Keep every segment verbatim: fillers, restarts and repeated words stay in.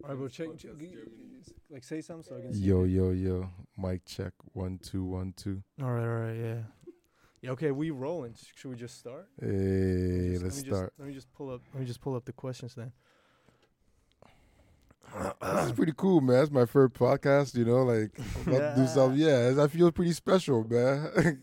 All right, bro. Check, check like say something so I can see. Yo, yo, yo. Mic check. One, two, one, two. All right, all right, yeah. Yeah, okay, we rolling. Should we just start? Hey, Just- let's let me start. Just, let me just pull up. Let me just pull up the questions then. This is pretty cool, man. It's my first podcast, you know, like, I'm about to do something. Yeah, I feel pretty special, man.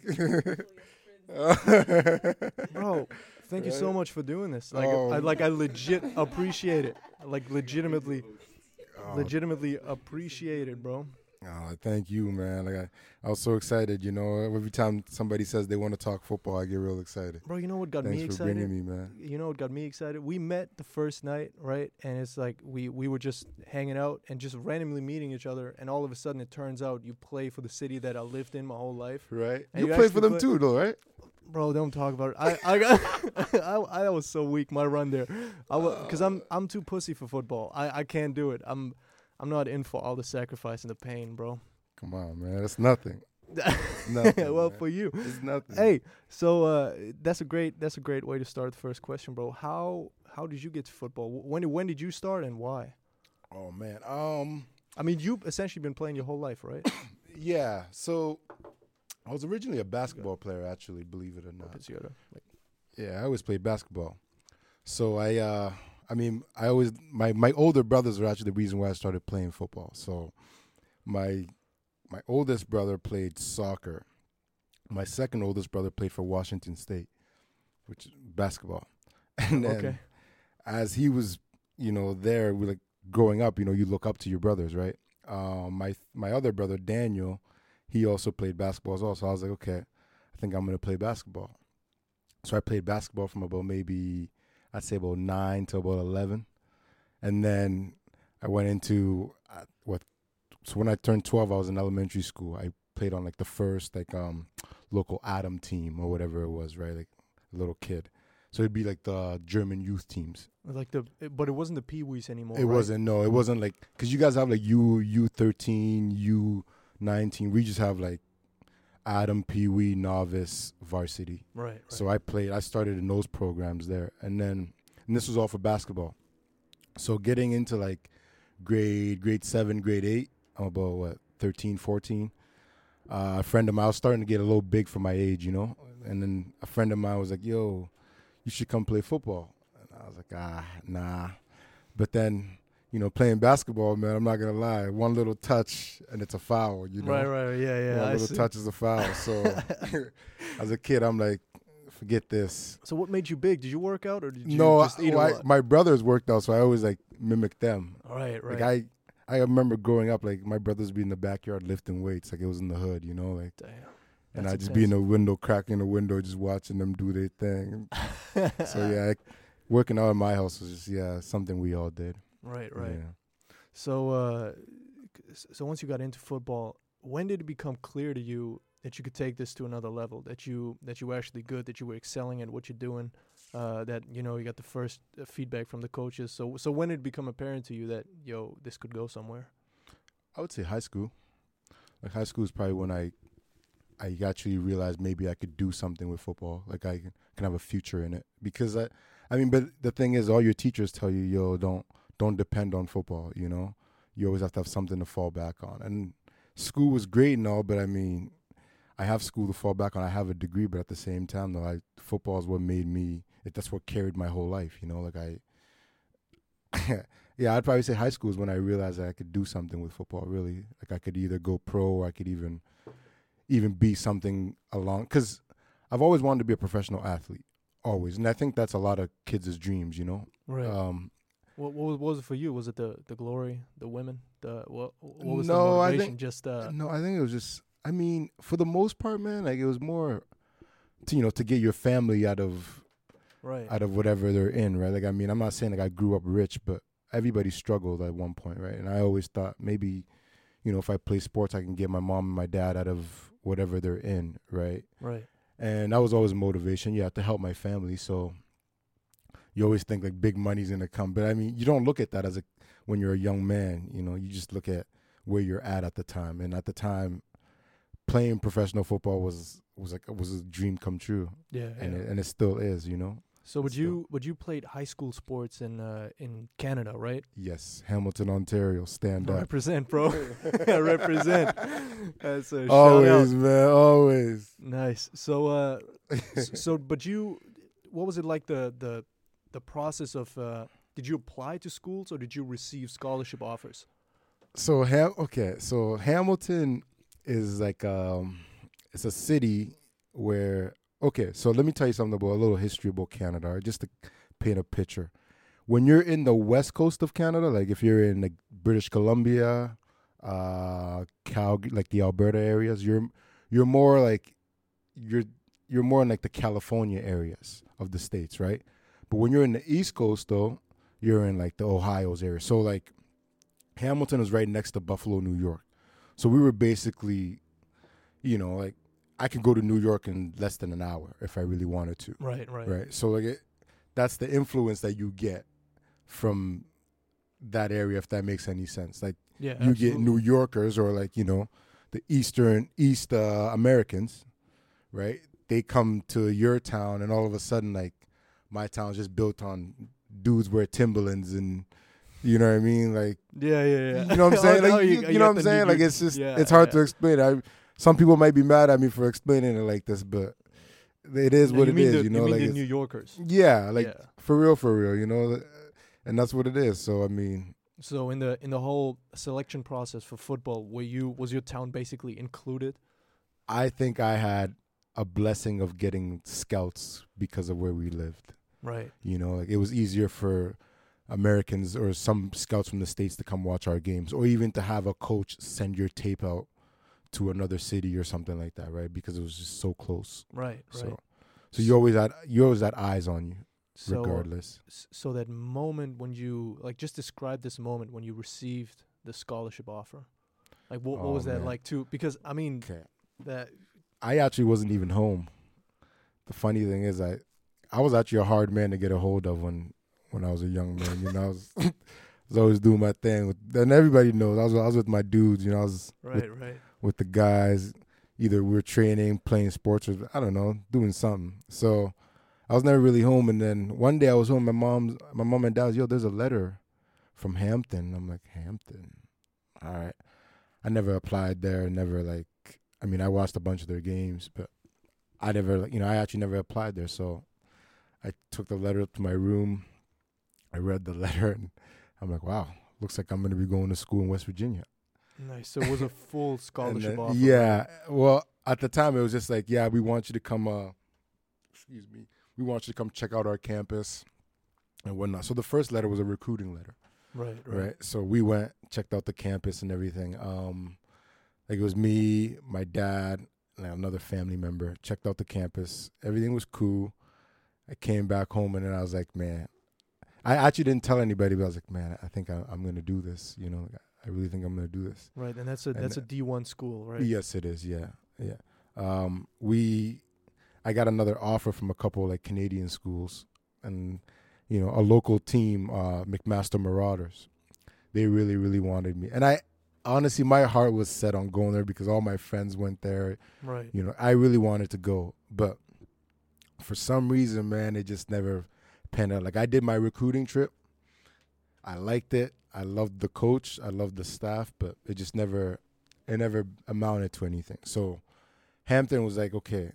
Bro, thank you so Right? much for doing this. Like, Oh. I like I legit appreciate it. Like, legitimately, Oh, legitimately appreciate it, bro. oh, thank you, man. Like, I, I was so excited, you know. Every time somebody says they want to talk football, I get real excited. Bro, you know what got Thanks me for excited? bringing me, man. You know what got me excited? We met the first night, right? And it's like we we were just hanging out and just randomly meeting each other, and all of a sudden it turns out you play for the city that I lived in my whole life. Right? And You, you played for actually them play- too, though, right? Bro, don't talk about it. I I got I, I was so weak my run there. I because I'm I'm too pussy for football. I, I can't do it. I'm I'm not in for all the sacrifice and the pain, bro. Come on, man. That's nothing. It's nothing, well, man. for you. It's nothing. Hey, so uh, that's a great that's a great way to start the first question, bro. How how did you get to football? Wh- When when did you start and why? Oh, man. Um... I mean, you've essentially been playing your whole life, right? Yeah, so I was originally a basketball player, actually, believe it or not. Pizziota. Like, Yeah, I always played basketball. So I, uh, I mean, I always my my older brothers are actually the reason why I started playing football. So my my oldest brother played soccer. My second oldest brother played for Washington State, which is basketball. And then okay. as he was, you know, there, we like growing up, you know, you look up to your brothers, right? Um, my my other brother Daniel, he also played basketball as well. So I was like, okay, I think I'm gonna play basketball. So I played basketball from about maybe I'd say about nine to about eleven, and then I went into uh, what. So when I turned twelve, I was in elementary school. I played on like the first like um local Adam team or whatever it was, right? Like a little kid. So it'd be like the German youth teams. Like the, it- but it wasn't the Pee Wees anymore. It right? wasn't, no, it wasn't like, because you guys have like U, U thirteen, U nineteen. We just have like Adam, Pee Wee, Novice, Varsity. Right. right. So I played, I started in those programs there. And then, and this was all for basketball. So getting into like grade, grade seven, grade eight, I'm about what, thirteen, fourteen. Uh, a friend of mine, I was starting to get a little big for my age, you know? And then a friend of mine was like, yo, you should come play football. And I was like, ah, nah. But then, you know, playing basketball, man, I'm not going to lie. One little touch and it's a foul, you know? Right. Right. Yeah. Yeah. One I little see. touch is a foul. So as a kid, I'm like, forget this. So what made you big? Did you work out or did you No, just I, eat a well, I- lot? my brothers worked out, so I always like mimic them. Right. Right. Like I, I remember growing up, like my brothers be in the backyard lifting weights, like it was in the hood, you know, like, Damn. and That's I'd just be in intense. the window, cracking the window, just watching them do their thing. So yeah, like, working out in my house was just yeah something we all did. Right. Right. Yeah. So, uh, c- so once you got into football, when did it become clear to you that you could take this to another level? That you that you were actually good, that you were excelling at what you're doing, uh, that you know you got the first uh, feedback from the coaches. So, so when did it become apparent to you that yo, this could go somewhere? I would say high school. Like high school is probably when I, I actually realized maybe I could do something with football. Like I can, can have a future in it. Because I, I mean, but the thing is, all your teachers tell you, yo, don't don't depend on football. You know, you always have to have something to fall back on. And school was great and all, but I mean, I have school to fall back on. I have a degree, but at the same time, though, I football is what made me. It, that's what carried my whole life. You know, like I. Yeah, I'd probably say high school is when I realized that I could do something with football. Really, like I could either go pro or I could even, even be something along. Because I've always wanted to be a professional athlete, always, and I think that's a lot of kids' dreams. You know, Right. um, what, what was what was it for you? Was it the the glory, the women, the what? What was No, the I motivation? think- Just uh, no, I think it was just. I mean, for the most part, man, like it was more, to, you know, to get your family out of right. out of whatever they're in, right? Like I mean, I'm not saying like I grew up rich, but everybody struggled at one point, right? And I always thought maybe, you know, if I play sports, I can get my mom and my dad out of whatever they're in, right? Right. And that was always motivation, yeah, to help my family. So you always think like big money's gonna come, but I mean, you don't look at that as a when you're a young man, you know, you just look at where you're at at the time. And at the time, playing professional football was was like was a dream come true, Yeah. and yeah. it, and it still is, you know. So would Still. you would you played high school sports in uh, in Canada, right? Yes, Hamilton, Ontario, stand up. Represent, bro. Represent. That's a shout Always, out. man, always. Nice. So uh, s- so but you, what was it like the the the process of? Uh, did you apply to schools or did you receive scholarship offers? So Ham, okay, so Hamilton is like um, it's a city where okay. So let me tell you something about a little history about Canada, right, just to paint a picture. When you're in the west coast of Canada, like if you're in like British Columbia, uh, Calgary, like the Alberta areas, you're you're more like you're you're more in like the California areas of the states, right? But when you're in the East Coast, though, you're in like the Ohio's area. So like Hamilton is right next to Buffalo, New York. So we were basically, you know, like I could go to New York in less than an hour if I really wanted to. Right, right, Right. So like it, that's the influence that you get from that area, if that makes any sense. Like Yeah, you absolutely. get New Yorkers or like, you know, the Eastern East uh, Americans, right? They come to your town and all of a sudden like my town's just built on dudes wear Timberlands and you know what I mean? Like Yeah, yeah, yeah. you know what I'm saying? Oh, Like no, you, you you know got what I'm the saying? New Like York- it's just yeah, it's hard yeah. to explain. I some people might be mad at me for explaining it like this, but it is No, what you it mean is, the, you know, mean like the it's, New Yorkers. yeah, like Yeah. for real, for real, you know, and that's what it is. So I mean, So in the in the whole selection process for football, were you was your town basically included? I think I had a blessing of getting scouts because of where we lived. Right. You know, like it was easier for Americans or some scouts from the States to come watch our games, or even to have a coach send your tape out to another city or something like that, right? Because it was just so close. Right, right. So, so you always had you always had eyes on you, So, regardless. s- so that moment when you like, just describe this moment when you received the scholarship offer. Like, what what Oh, was that man. like too? Because I mean, Okay, that I actually wasn't even home. The funny thing is, I I was actually a hard man to get a hold of when when I was a young man. You know, I was, I was always doing my thing. With, and everybody knows I was I was with my dudes. You know, I was with right, right. with the guys. Either we were training, playing sports, or I don't know, doing something. So I was never really home. And then one day I was home. My mom's, my mom and dad was, yo, there's a letter from Hampton. I'm like, Hampton? All right. I never applied there. Never like, I mean, I watched a bunch of their games, but I never, like, you know, I actually never applied there. So I took the letter up to my room. I read the letter and I'm like, wow, looks like I'm going to be going to school in West Virginia. Nice. So it was a full And scholarship then- offer. Yeah. right? Well, at the time it was just like, yeah, we want you to come. Uh, excuse me. We want you to come check out our campus and whatnot. So the first letter was a recruiting letter, Right, right? right. So we went, checked out the campus and everything. Um, like it was me, my dad, and another family member. Checked out the campus. Everything was cool. I came back home and then I was like, man, I actually didn't tell anybody, but I was like, man, I think I, I'm going to do this. You know, I really think I'm going to do this. Right, and that's a And that's a uh, D one school, right? Yes, it is. Yeah, yeah. Um, we, I got another offer from a couple like Canadian schools, and you know, a local team, uh, McMaster Marauders. They really, really wanted me, and I honestly, my heart was set on going there because all my friends went there. Right. You know, I really wanted to go, but for some reason, man, it just never panned out. Like I did my recruiting trip. I liked it. I loved the coach. I loved the staff, but it just never, it never amounted to anything. So Hampton was like, okay,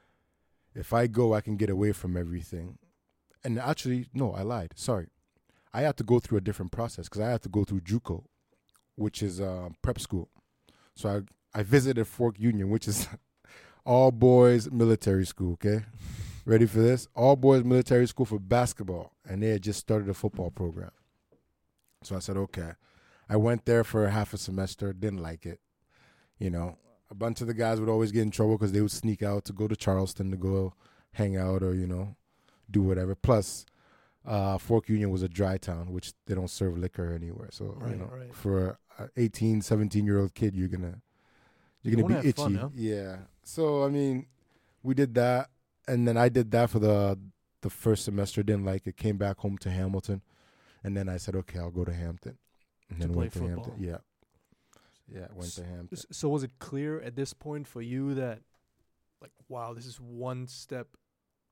if I go, I can get away from everything. And actually, no, I lied. Sorry. I had to go through a different process because I had to go through JUCO, which is uh, prep school. So I, I visited Fork Union, which is all boys military school, okay? Ready for this? All boys military school for basketball. And they had just started a football program. So I said, okay. I went there for half a semester, didn't like it. You know, a bunch of the guys would always get in trouble because they would sneak out to go to Charleston to go hang out or, you know, do whatever. Plus, uh, Fork Union was a dry town, which they don't serve liquor anywhere. So, Right, you know, right. for an eighteen, seventeen-year-old kid, you're going to you're You gonna wanna be have itchy. fun, huh? Yeah. So, I mean, we did that. And then I did that for the the first semester, didn't like it, came back home to Hamilton. And then I said, okay, I'll go to Hampton. And To then play went to football. Hampton. Yeah. Yeah, went S- to Hampton. S- So was it clear at this point for you that, like, wow, this is one step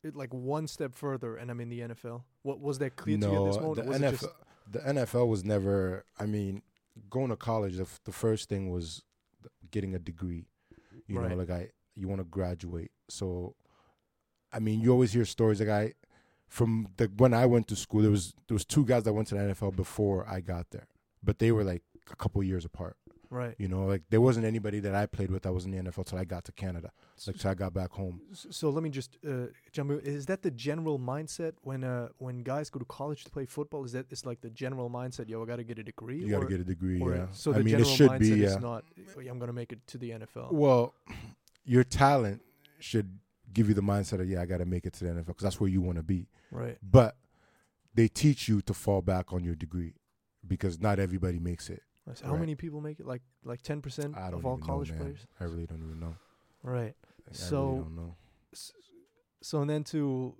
it like one step further and I'm in the N F L? What was that clear to you at No, this moment? the or was N F L, it just the N F L was never. I mean, going to college, the, f- the first thing was th- getting a degree. You Right. know, like I, you want to graduate. So, I mean, you always hear stories. Like I, from the when I went to school, there was there was two guys that went to the N F L before I got there, but they were like a couple years apart. right? You know, like there wasn't anybody that I played with that was in the N F L till I got to Canada. Like till I got back home. S- So let me just uh, jump in. Is that the general mindset when uh, when guys go to college to play football? Is that it's like the general mindset? Yo, I got to get a degree. You got to or- get a degree. or- Yeah. So I the mean, it general should mindset be. is Yeah. not. "Oh, yeah, I'm gonna make it to the N F L. Well, your talent should give you the mindset of, yeah, I got to make it to the N F L because that's where you want to be. Right. But they teach you to fall back on your degree because not everybody makes it. Nice. How Right. many people make it? Like like ten percent I don't of all even college know, man. players. I really don't even know. Right. I So- really don't know. S- So and then to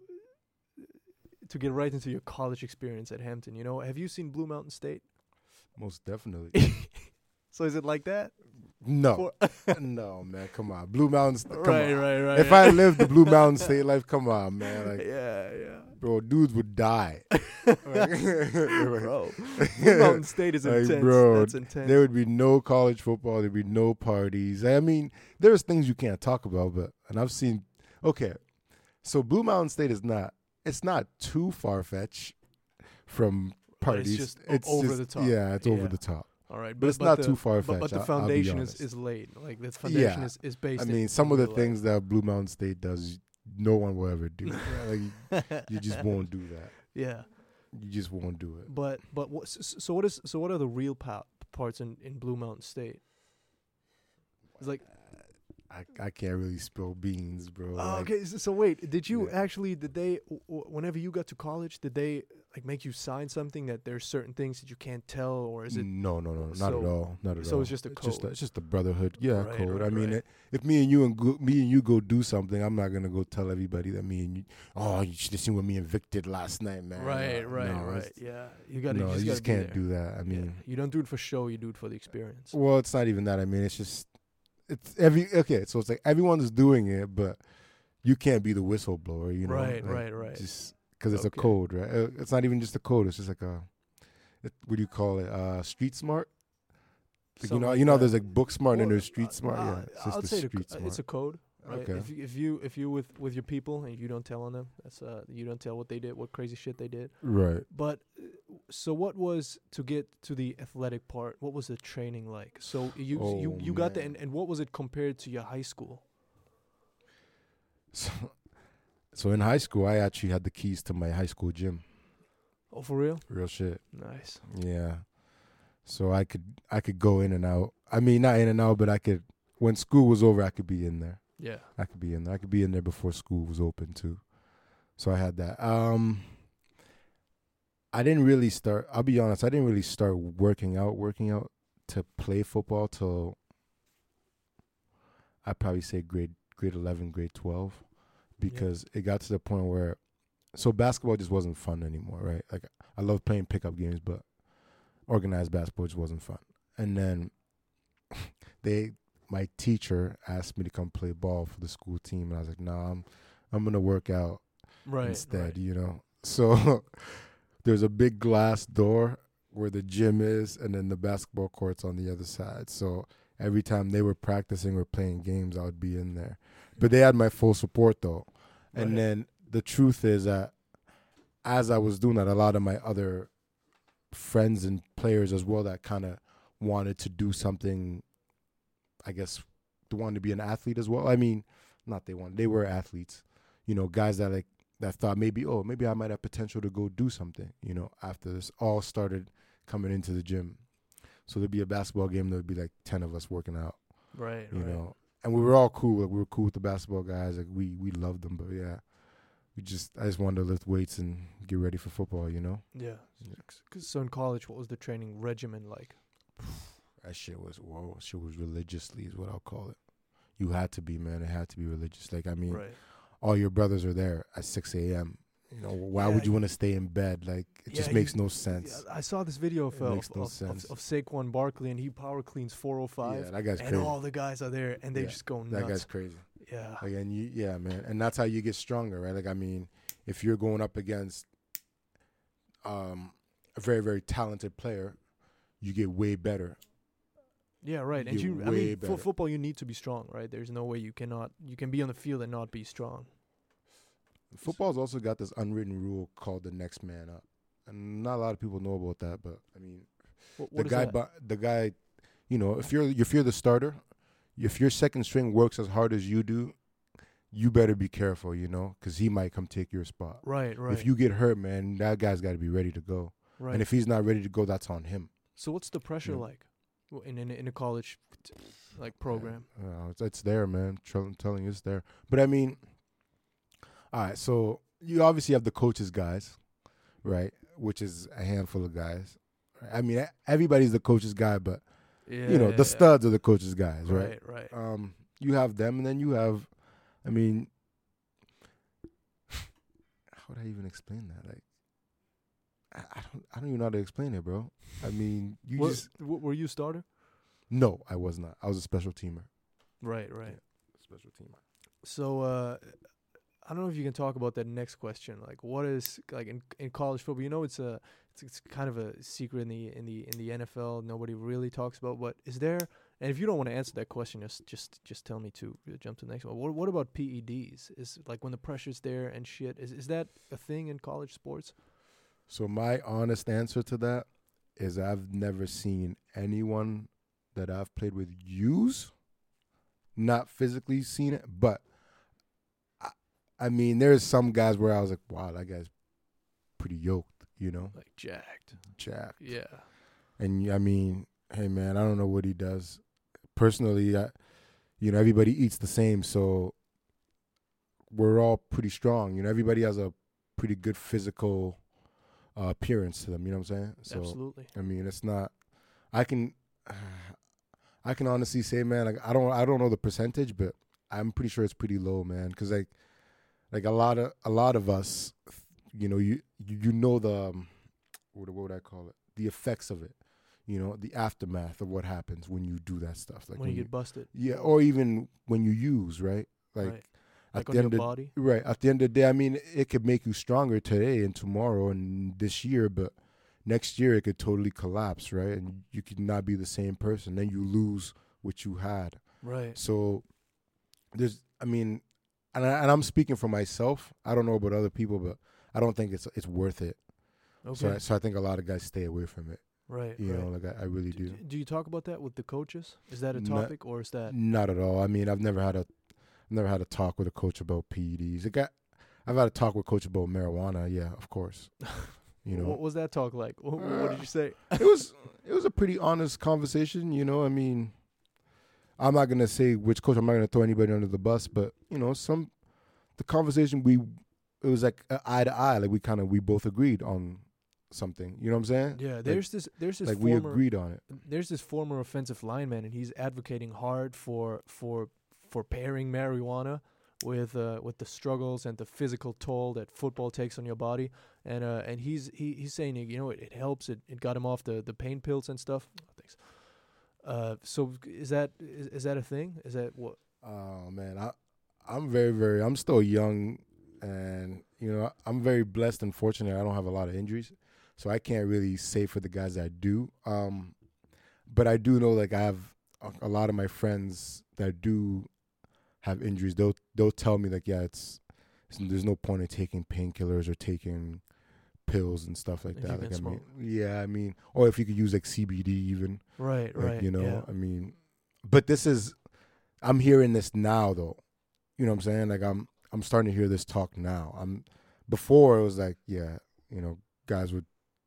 to get right into your college experience at Hampton, you know, have you seen Blue Mountain State? Most definitely. So is it like that? No. For- No, man. Come on. Blue Mountains. Come right, on. right, right. If I lived the Blue Mountain State life, come on, man. Like, yeah, yeah. bro, dudes would die. Bro, Blue Mountain State is Like, intense. bro, That's intense. There would be no college football. There'd be no parties. I mean, there's things you can't talk about, but and I've seen. Okay, so Blue Mountain State is not. It's not too far fetched from But it's parties. just o- over the top. Yeah, it's over Yeah. the top. All right, But it's not the, too far But, but fetched. the I'll- I'll be foundation is, honest. is laid. Like the foundation Yeah. is, is based. I in- mean, some in of the real things that Blue Mountain State does, no one will ever do. Like, life. you just won't do that. Yeah, You just won't do it. but but what? s- s- So what is? So what are the real pa- parts in, in Blue Mountain State? It's like I, I can't really spill beans, bro. oh, Like, okay. So, so wait, did you Yeah. actually? Did they? W- w- whenever you got to college, did they like make you sign something that there's certain things that you can't tell, or is it? No, no, no, not so- at all. Not at so all. it's just a Just code. it's just a brotherhood. Yeah, Right, code. right, I mean, right. it, if me and you and go, me and you go do something, I'm not gonna go tell everybody that me and you. Oh, you should have seen what me and Vic did last night, man. Right, No, right, no, right. it's- Yeah, you got to. No, you just, you just gotta be can't there. do that. I Yeah. mean, You don't do it for show. You do it for the experience. well, it's not even that. I mean, it's just it's every okay. So it's like everyone is doing it, but you can't be the whistleblower. You know, Right, like, right, right. Just because it's Okay. a code, right? Uh, It's not even just a code. It's just like a it, what do you call it? Uh, street smart. Like, you Something know, like you know, that. there's like book smart and Well, there's street uh, smart. uh, Yeah, it's just I'd the say the street co- smart. it's a code. Right? Okay. If you, if you if you with with your people and you don't tell on them, that's uh you don't tell what they did, what crazy shit they did. Right. But uh, so what was to get to the athletic part? What was the training like? So you you Oh, you got the man. and, and what was it compared to your high school? So, so in high school, I actually had the keys to my high school gym. Oh, for real? Real shit. Nice. Yeah. So I could I could go in and out. I mean, not in and out, but I could. When school was over, I could be in there. Yeah. I could be in there. I could be in there before school was open too. So I had that. Um, I didn't really start. I'll be honest. I didn't really start working out, working out to play football till I'd probably say grade grade eleven, grade twelve, because it got to the point where, so basketball just wasn't fun anymore, right? Like I love playing pickup games, but organized basketball just wasn't fun. And then they, my teacher asked me to come play ball for the school team, and I was like, "Nah, I'm, I'm gonna work out Right. instead," right. you know. So there's a big glass door where the gym is, and then the basketball court's on the other side. So every time they were practicing or playing games, I would be in there. But they had my full support though. And Right. then the truth is that as I was doing that, a lot of my other friends and players as well that kind of wanted to do something, I guess, they wanted to be an athlete as well. I mean, not they wanted, they were athletes. You know, guys that like that thought maybe, oh, maybe I might have potential to go do something, you know, after this all started coming into the gym. So there'd be a basketball game, there'd be like ten of us working out, Right. you right. know. And we were all cool. Like we were cool with the basketball guys. Like we we loved them, but yeah. We just I just wanted to lift weights and get ready for football, you know? Yeah. Yeah. 'Cause so in college, what was the training regimen like? That shit was whoa, shit was religiously is what I'll call it. You had to be, man. It had to be religious. Like I mean, Right. all your brothers are there at six a m. You know, why Yeah, would you you- want to stay in bed? Like it just Yeah, makes you- no Yeah, sense. I saw this video of It uh, makes of, no of, of, sense. of Saquon Barkley, and he power cleans four oh five, Yeah, that guy's and crazy. all the guys are there, and they Yeah, just go nuts. That guy's crazy. Yeah. Like, and you, yeah, man, and that's how you get stronger, right? Like, I mean, if you're going up against um, a very, very talented player, you get way better. Yeah, right. And You're you, I way mean, for better. football, you need to be strong, right? There's no way you cannot, you can be on the field and not be strong. Football's also got this unwritten rule called the next man up, and not a lot of people know about that. But I mean, What, what the is guy, that? bu- the guy, you know, if you're if you're the starter, if your second string works as hard as you do, you better be careful, you know, because he might come take your spot. Right, right. If you get hurt, man, that guy's got to be ready to go. right. And if he's not ready to go, that's on him. So what's the pressure Yeah. like w- in, in in a college like program? Uh, it's, it's there, man. Tr- I'm telling you, it's there. But I mean, all right. So you obviously have the coaches, guys, right? Which is a handful of guys. I mean, e- everybody's the coach's guy, but Yeah, you know, yeah, the yeah. studs are the coach's guys, right? Right, right. Um, you have them, and then you have, I mean, how would I even explain that? Like, I, I don't, I don't even know how to explain it, bro. I mean, you Were- just w- were you a starter? no, I was not. I was a special teamer. Right, right. Special teamer. So uh, I don't know if you can talk about that next question. Like, what is like in in college football? You know, it's a it's, it's kind of a secret in the in the in the N F L. Nobody really talks about. But is there? And if you don't want to answer that question, just just just tell me to uh, jump to the next one. What what about P E Ds? Is like when the pressure's there and shit. Is is that a thing in college sports? So my honest answer to that is I've never seen anyone that I've played with use, not physically seen it, but I, I mean, there's some guys where I was like, wow, that guy's pretty yoked, you know, Like jacked. jacked. Yeah. And I mean, hey man, I don't know what he does. Personally, I, you know, everybody eats the same, so we're all pretty strong. You know, everybody has a pretty good physical uh, appearance to them. You know what I'm saying? So Absolutely. I mean, it's not. I can, I can honestly say, man, like I don't, I don't know the percentage, but I'm pretty sure it's pretty low, man. Because like, like a lot of, a lot of us, you know, you, you, you know the, um, what, what would I call it? The effects of it. You know, the aftermath of what happens when you do that stuff. Like when, you get busted. yeah, or even when you use, right? Like right. at Like the on your end of body. right at the end of the day, I mean, it could make you stronger today and tomorrow and this year, but next year it could totally collapse, right? And you could not be the same person. Then you lose what you had. Right. So there's, I mean, and, I, and I'm speaking for myself. I don't know about other people, but I don't think it's it's worth it. Okay. So I, so I think a lot of guys stay away from it. right. You right. know, like I, I really do, do. do you talk about that with the coaches? Is that a Not- topic or is that Not at all. I mean, I've never had a, I've never had a talk with a coach about P E Ds. It got, I've had a talk with a coach about marijuana. Yeah, of course. You know, what was that talk like? What, what did you say? it was, it was a pretty honest conversation. You know, I mean, I'm not gonna say which coach. I'm not gonna throw anybody under the bus, but you know, some, the conversation we, it was like uh, eye to eye. Like we kind of, we both agreed on something. You know what I'm saying? Yeah, there's this there's this Like we former agreed on it. there's this former offensive lineman and he's advocating hard for for for pairing marijuana with uh with the struggles and the physical toll that football takes on your body. And uh and he's he, he's saying you know it, it helps it, it got him off the, the pain pills and stuff. Oh, thanks. Uh so is that is, is that a thing? Is that what Oh man, I I'm very very I'm still young, and you know I'm very blessed and fortunate. I don't have a lot of injuries, so I can't really say for the guys that do. Um, but I do know like I have a, a lot of my friends that do have injuries. They'll they'll tell me like yeah, it's, it's there's no point in taking painkillers or taking pills and stuff like If you that. Like can I mean, smoke. yeah, I mean, or if you could use like C B D even. right, Like, right. you know, yeah. I mean, but this is, I'm hearing this now though. You know what I'm saying? Like I'm, I'm starting to hear this talk now. I'm, before it was like, yeah, you know, guys would,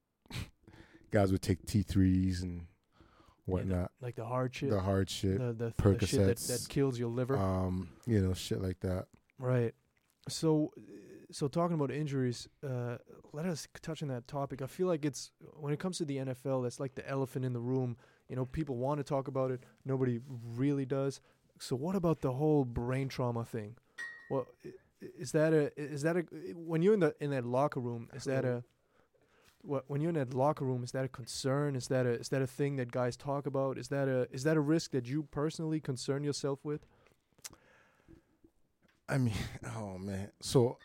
guys would take T threes and Yeah, the- whatnot, like the hard shit. the hard shit, the, the, the shit that, that Percocets, kills your liver. um, you know, shit like that. Right. So, so talking about injuries, uh, let us touch on that topic. I feel like it's when it comes to the N F L, that's like the elephant in the room. You know, people want to talk about it, nobody really does. So, what about the whole brain trauma thing? Well, i- is that a is that a when you're in the in that locker room? Is that a what when you're in that locker room? Is that a concern? Is that a is that a thing that guys talk about? Is that a is that a risk that you personally concern yourself with? I mean, oh man. So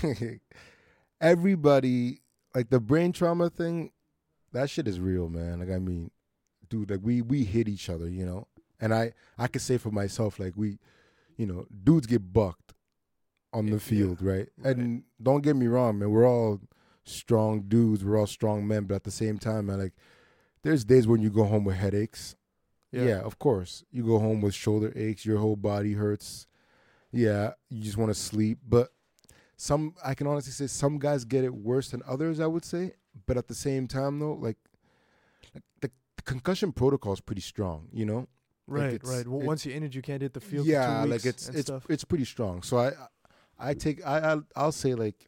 everybody, like the brain trauma thing, that shit is real, man. Like I mean, dude, like we we hit each other, you know. And I I could say for myself, like we, you know, dudes get bucked on Yeah, the field, yeah, right? right. And don't get me wrong, man. We're all strong dudes. We're all strong men, but at the same time, man, like there's days when you go home with headaches. Yeah. Yeah, of course. You go home with shoulder aches, your whole body hurts. Yeah, you just want to sleep. But some, I can honestly say, some guys get it worse than others. I would say, but at the same time, though, like, like the, the concussion protocol is pretty strong. You know, like Right, it's- right. Well, it- once you're injured, you can't hit the field. yeah, for two like weeks it's and it's stuff. it's pretty strong. So I I take I I'll, I'll say like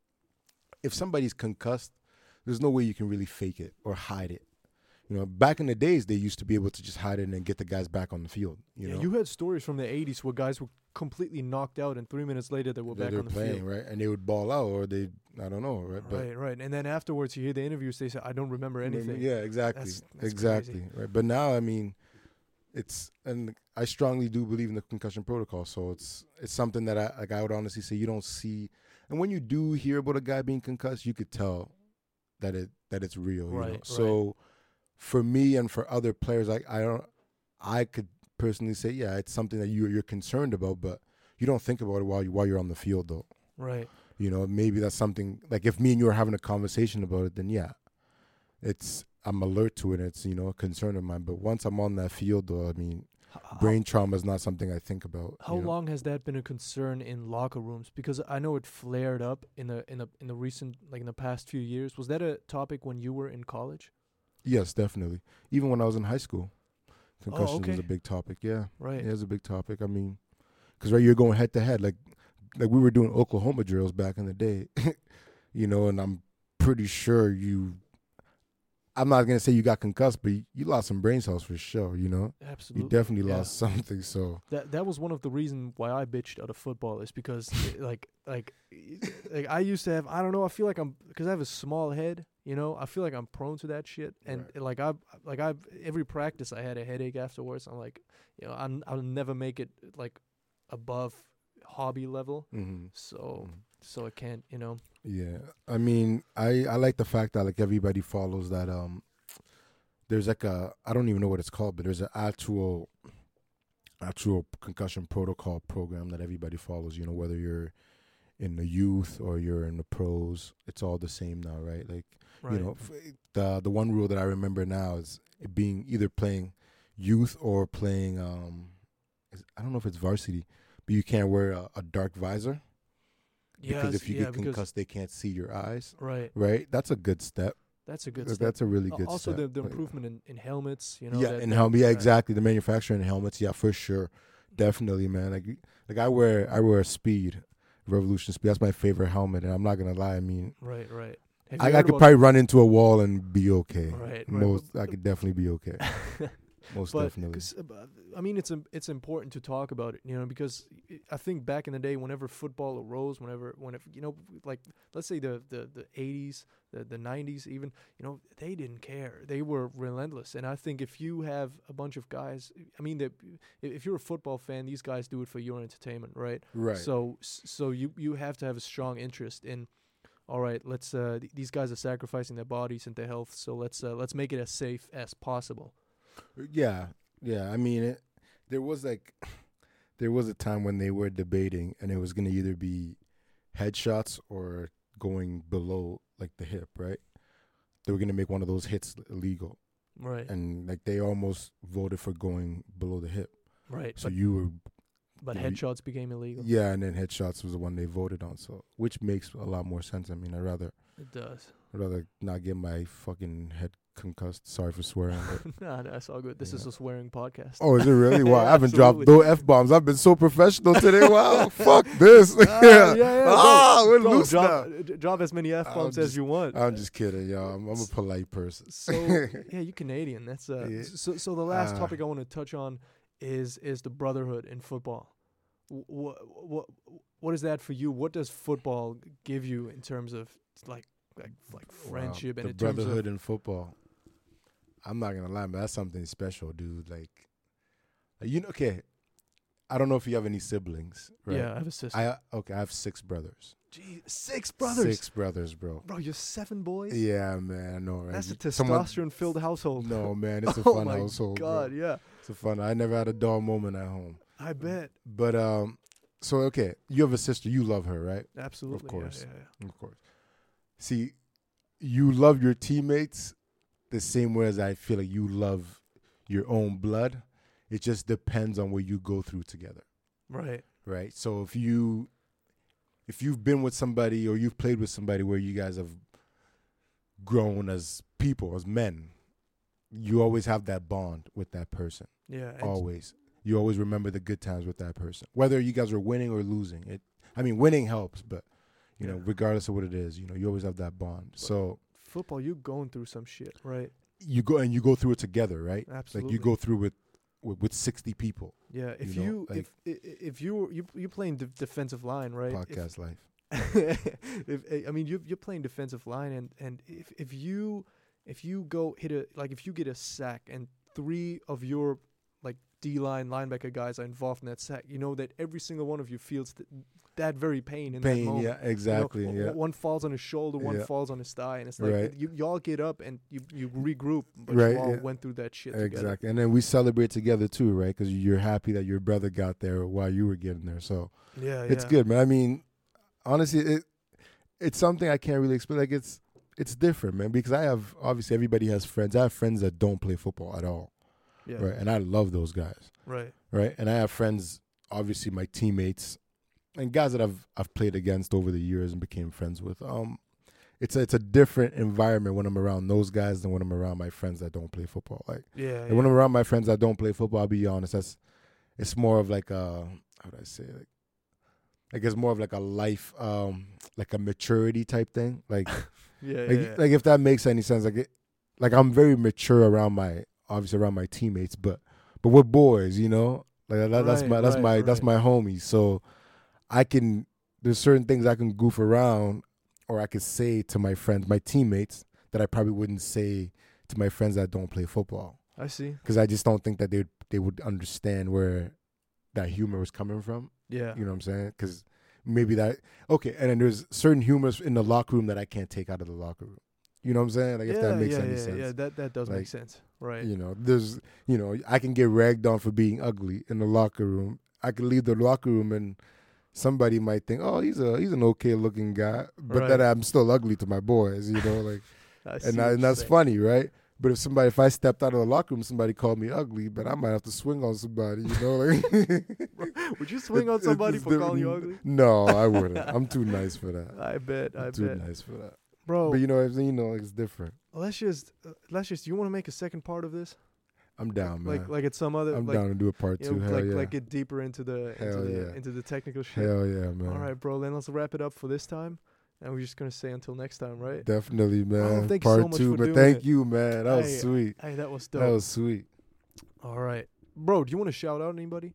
if somebody's concussed, there's no way you can really fake it or hide it. You know, back in the days, they used to be able to just hide it and then get the guys back on the field. You yeah, know, you had stories from the eighties where guys were completely knocked out, and three minutes later they were They're- back they're on the playing, field. right? And they would ball out, or they, I don't know, right? But Right, right. And then afterwards, you hear the interviews. They say, "I don't remember anything." yeah, exactly, That's- that's exactly, crazy. right. But now, I mean, it's and I strongly do believe in the concussion protocol. So it's it's something that I like. I would honestly say you don't see, and when you do hear about a guy being concussed, you could tell that it that it's real. You know? Right, right. So for me and for other players, like I don't, I could personally say, yeah, it's something that you you're concerned about, but you don't think about it while you while you're on the field, though. Right. You know, maybe that's something like if me and you are having a conversation about it, then yeah, it's I'm alert to it. It's you know a concern of mine. But once I'm on that field, though, I mean, H- brain trauma is not something I think about. How you know? long has that been a concern in locker rooms? Because I know it flared up in the in the in the recent like in the past few years. Was that a topic when you were in college? Yes, definitely. Even when I was in high school, concussion was okay. a big topic. Yeah, Right. yeah, it was a big topic. I mean, because right, you're going head to head, like like we were doing Oklahoma drills back in the day, you know, and I'm pretty sure you. I'm not gonna say you got concussed, but you, you lost some brain cells for sure. You know, Absolutely. you definitely yeah. lost something. So That that was one of the reasons why I bitched out of football is because it, like like like I used to have I don't know I feel like I'm because I have a small head, you know, I feel like I'm prone to that shit, and Right. like I like I every practice I had a headache afterwards. I'm like, you know, I'm I'll never make it like above hobby level, mm-hmm. so so I can't, you know. Yeah, I mean, I I like the fact that like everybody follows that. Um, there's like a I don't even know what it's called, but there's an actual actual concussion protocol program that everybody follows. You know, whether you're in the youth or you're in the pros, it's all the same now, right? Like Right. you know, f- the the one rule that I remember now is it being either playing youth or playing um, is, I don't know if it's varsity, but you can't wear a, a dark visor. Because Yes, if you yeah, get because- concussed, they can't see your eyes. right. Right? That's a good step. That's a good. Th- step. That's a really Al- good also step. the the But, improvement in, in helmets, you know. yeah, that, and that- helmet. Yeah, that- exactly. The manufacturing helmets. Yeah, for sure. Definitely, man. Like, you- like I wear, I wear a Speed, Revolution Speed. That's my favorite helmet, and I'm not gonna lie. I mean, Right, right. Have you I, I heard could about- probably run into a wall and be okay. Right, right, Most, but- I could definitely be okay. Most but definitely. 'cause, uh, but, I mean, it's im- it's important to talk about it, you know, because i I think back in the day, whenever football arose, whenever whenever you know, like let's say the the the eighties, the the nineties, even, you know, they didn't care. They were relentless, and I think if you have a bunch of guys, I mean, that if you're a football fan, these guys do it for your entertainment, right? Right. So s- so you you have to have a strong interest in. All right, let's. Uh, th- these guys are sacrificing their bodies and their health, so let's uh, let's make it as safe as possible. Yeah, yeah. I mean, it, there was like, there was a time when they were debating, and it was gonna either be headshots or going below like the hip, right? They were gonna make one of those hits illegal, Right, and like they almost voted for going below the hip. right. So but you were, but you know, headshots became illegal. yeah, and then headshots was the one they voted on. So which makes a lot more sense. I mean, I would rather It does. I'd rather not get my fucking head concussed. Sorry for swearing. But Nah, that's all good. This is Yeah. a swearing podcast. oh, is it really? Wow, I haven't Absolutely. dropped no f bombs. I've been so professional today. Wow, fuck this. Ah, yeah, yeah. Ah, go- we're go, loose drop, now. uh, d- drop as many f bombs I'm as just- you want. I'm just kidding, y'all. I'm, I'm a polite person. So yeah, you Canadian. That's uh. Yeah. s- So so the last Ah. topic I want to touch on is is the brotherhood in football. What what what is that for you? What does football give you in terms of like like like friendship Wow, and the in terms of brotherhood in football. I'm not gonna lie, man. That's something special, dude. Like, you know, okay. I don't know if you have any siblings, right? Yeah, I have a sister. I okay, I have six brothers. Gee, six brothers. Six brothers, bro. Bro, you're seven boys. Yeah, man, I know, right? That's a Someone- testosterone-filled household. No, man, it's a Oh fun my household. God, bro. yeah. It's a fun. I never had a dull moment at home. I bet. But um, so okay, you have a sister. You love her, right? Absolutely. Of course. Yeah, yeah, yeah. Of course. See, you love your teammates the same way as I feel like you love your own blood. It just depends on what you go through together, Right. right? So if you if you've been with somebody or you've played with somebody where you guys have grown as people, as men, you always have that bond with that person. Yeah. and- Always. You always remember the good times with that person. Whether you guys are winning or losing. It I mean winning helps, but you know, Yeah. regardless of what it is, you know, you always have that bond. So Football, you going through some shit, right? you go and you go through it together, right? Absolutely. Like you go through with with, with sixty people. Yeah. If you you, know, like- if i- if you you you playing de- defensive line, right? If- Podcast life. if I mean you you're playing defensive line and and if if you if you go hit a like if you get a sack and three of your like D line linebacker guys are involved in that sack, you know that every single one of you feels th- that very pain in that Pain, moment. yeah, You know, exactly. w- yeah. w- One falls on his shoulder, one Yeah. falls on his thigh, and it's like Right. you y'all get up and you you regroup, but Right, you all yeah. went through that shit together. Exactly. And then we celebrate together too, right? Because you're happy that your brother got there while you were getting there. So Yeah, it's yeah. good, man. I mean, honestly, it it's something I can't really explain. Like it's it's different, man. Because I have obviously everybody has friends. I have friends that don't play football at all, Yeah, right? And I love those guys, right. right? And I have friends, obviously my teammates, and guys that I've I've played against over the years and became friends with. Um, it's a, it's a different environment when I'm around those guys than when I'm around my friends that don't play football. Like Yeah, and when I'm around my friends that don't play football, I'll be honest, that's it's more of like a how would I say like I guess more of like a life um like a maturity type thing. Like yeah, like, yeah, yeah. like if that makes any sense. Like it, like I'm very mature around my obviously around my teammates, but but we're boys, you know? Like that, that's Right, my that's right, my that's right. my homies. So I can there's certain things I can goof around or I could say to my friends, my teammates that I probably wouldn't say to my friends that don't play football. I see. Because I just don't think that they would they would understand where that humor was coming from. Yeah, You know what I'm saying? Because maybe that okay, and then there's certain humors in the locker room that I can't take out of the locker room. You know what I'm saying? Like yeah, if that makes yeah, any yeah, sense. yeah. That that does make Like, sense, right? You know, there's you know I can get ragged on for being ugly in the locker room. I could leave the locker room and somebody might think, oh, he's a he's an okay looking guy, but then Right. I'm still ugly to my boys. You know, like I see and what I, and you're that's saying. funny, right? But if somebody, if I stepped out of the locker room, somebody called me ugly, but I might have to swing on somebody, you know? Like, Would you swing on It- somebody it's for calling you different. ugly? No, I wouldn't. I'm too nice for that. I bet. I I'm too bet, nice for that. bro. But you know, you know, it's different. let's just uh, let's just. You want to make a second part of this? I'm down, man. Like like it's some other. I'm like, down to do a part you two. know, Hell like yeah. like get deeper into the into Hell the yeah. into the technical shit. Hell yeah, man. All right, bro. Then let's wrap it up for this time, and we're just gonna say until next time, right? Definitely, man. thank you part so much two, for but doing thank it. you, man. That was Hey, sweet. Hey, that was dope. That was sweet. All right, bro. Do you want to shout out anybody?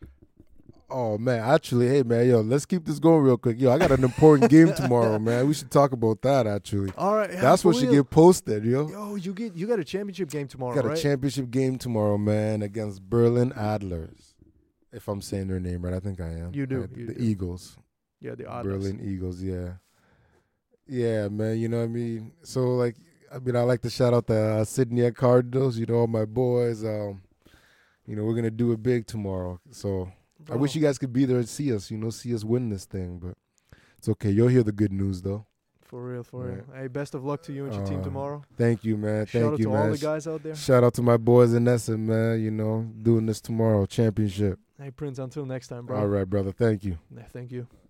Oh man, actually, hey man, yo, let's keep this going real quick. Yo, I got an important game tomorrow, man. We should talk about that. Actually, All right, yeah, that's for what should real. get posted, yo. Yo, you get you got a championship game tomorrow, Got right? a championship game tomorrow, man, against Berlin Adlers. If I'm saying their name right, I think I am. You do, Right, you the do. Eagles. yeah, the odds. Berlin Eagles, yeah. Yeah, man, you know what I mean? So, like, I mean, I like to shout out the uh, Sydney Cardinals, you know, all my boys. Um, you know, we're going to do it big tomorrow. So, I wish you guys could be there and see us, you know, see us win this thing. But it's okay. You'll hear the good news, though. For real, for Right. real. Hey, best of luck to you and your team Uh, tomorrow. Thank you, man. Shout Thank out you, to man. all the guys out there. Shout out to my boys in Essen, man, you know, doing this tomorrow, championship. Hey, Prince, until next time, bro. All right, brother. Thank you. Yeah, thank you.